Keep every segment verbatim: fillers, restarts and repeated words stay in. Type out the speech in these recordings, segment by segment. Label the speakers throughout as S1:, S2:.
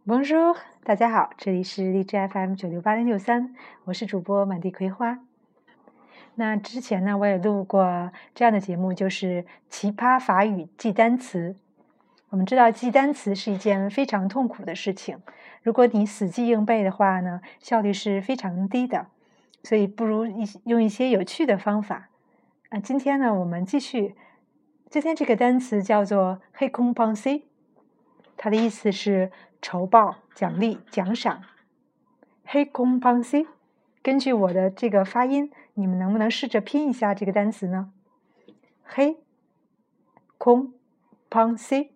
S1: Bonjour，大家好，这里是荔枝 F M 九六八零六三，我是主播满地葵花。那之前呢，我也录过这样的节目，就是奇葩法语记单词。我们知道记单词是一件非常痛苦的事情，如果你死记硬背的话呢，效率是非常低的，所以不如一用一些有趣的方法。啊，今天呢，我们继续，今天这个单词叫做 récompenser， 它的意思是酬报、奖励、奖赏。récompenser， 根据我的这个发音，你们能不能试着拼一下这个单词呢？ récompenser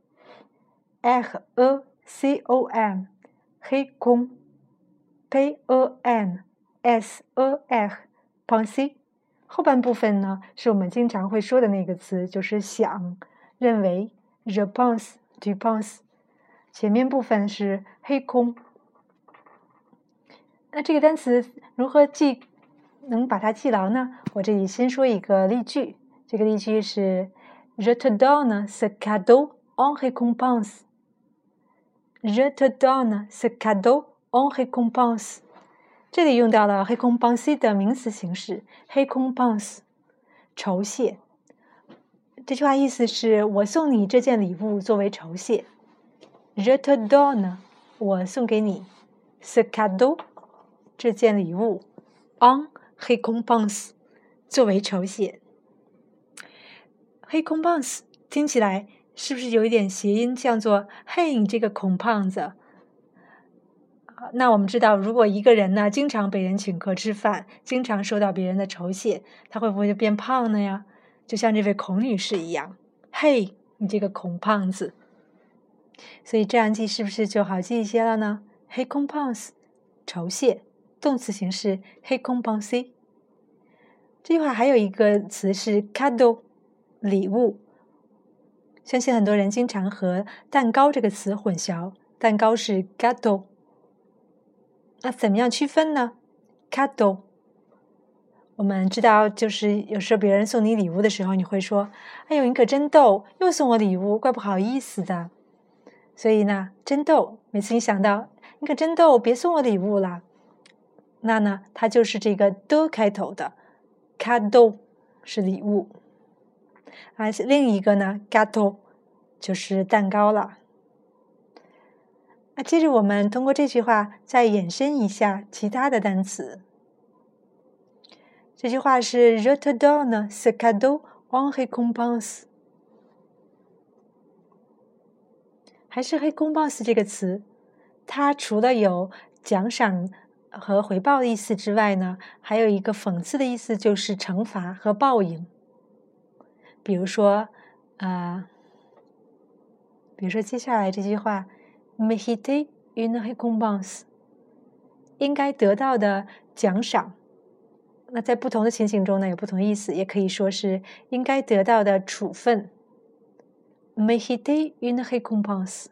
S1: R E C O M récomp P E N S E R penser， 后半部分呢是我们经常会说的那个词，就是想、认为 je pense tu penses， 前面部分是récomp。那这个单词如何记，能把它记牢呢？我这里先说一个例句，这个例句是 Je te donne ce cadeau en récompense。 Je te donne ce cadeau en récompense。 这里用到了 récompenser 的名词形式 récompense， 酬谢。这句话意思是我送你这件礼物作为酬谢。 Je te donne， 我送给你 ce cadeau，这件礼物 en récompense， 作为酬谢。récompense 听起来是不是有一点谐音，叫做嘿你这个孔胖子。那我们知道，如果一个人呢经常被人请客吃饭，经常受到别人的酬谢，他会不会就变胖呢呀？就像这位孔女士一样，嘿你这个孔胖子。所以这样记是不是就好记一些了呢？ récompense 酬谢，动词形式 récompenser。 这句话还有一个词是 cadeau， 礼物。相信很多人经常和蛋糕这个词混淆，蛋糕是 gâteau。 那怎么样区分呢？ cadeau 我们知道，就是有时候别人送你礼物的时候，你会说哎呦你可真逗，又送我礼物，怪不好意思的。所以呢，真逗，每次你想到你可真逗，别送我礼物了，那呢它就是这个的开头的 cadeau 是礼物。而另一个呢 gâteau 就是蛋糕了。那接着我们通过这句话再延伸一下其他的单词。这句话是 Je te donne ce cadeau en récompense。 还是 récompense 这个词，它除了有奖赏和回报的意思之外呢，还有一个讽刺的意思，就是惩罚和报应。比如说呃，比如说接下来这句话 mériter une récompense， 应该得到的奖赏。那在不同的情形中呢，有不同的意思，也可以说是应该得到的处分。mériter une récompense。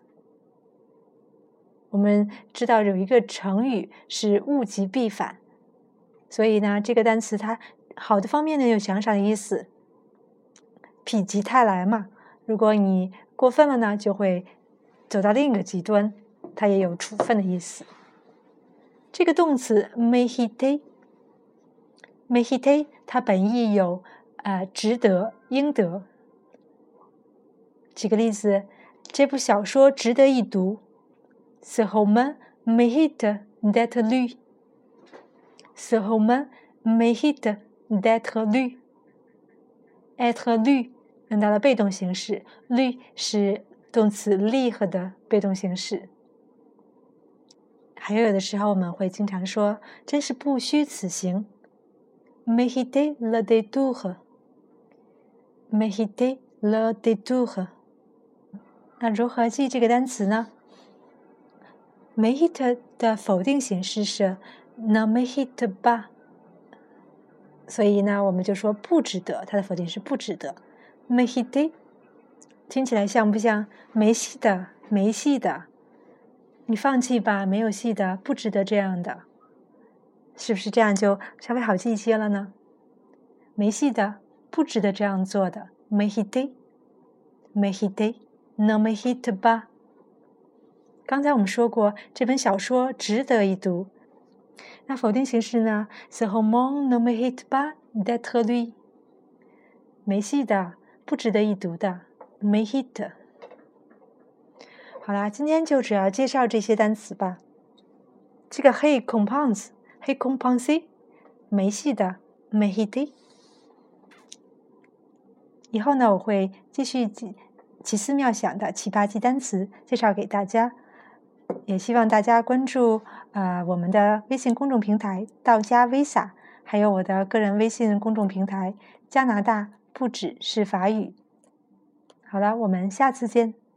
S1: 我们知道有一个成语是物极必反，所以呢这个单词它好的方面呢有奖赏的意思，否极泰来嘛，如果你过分了呢就会走到另一个极端，它也有处分的意思。这个动词 mériter mériter 它本意有呃值得、应得。举个例子，这部小说值得一读， Ce roman mérite d'être lu。 Ce roman mérite d'être lu。 être lu 用到了被动形式， lu 是动词 lire 的被动形式。还有有的时候我们会经常说真是不虚此行， mériter le détour。 mériter le détour。 那如何记这个单词呢？ mérite 的否定形式是 ne mérite pas， 所以呢我们就说不值得，它的否定是不值得。 mériter 听起来像不像没戏的、没戏的，你放弃吧，没有戏的，不值得这样的，是不是这样就稍微好记一些了呢？没戏的，不值得这样做的 mériter mériter ne mérite pas。 刚才我们说过，这本小说值得一读。那否定形式呢 ？Ce roman ne mérite pas d'être lu。没戏的，不值得一读的 ，mérite。好啦，今天就主要介绍这些单词吧。这个 récompense、récompenser，没戏的 mérite。以后呢，我会继续奇奇思妙想的奇葩记单词介绍给大家，也希望大家关注呃我们的微信公众平台道家 Visa， 还有我的个人微信公众平台加拿大不只是法语。好了，我们下次见。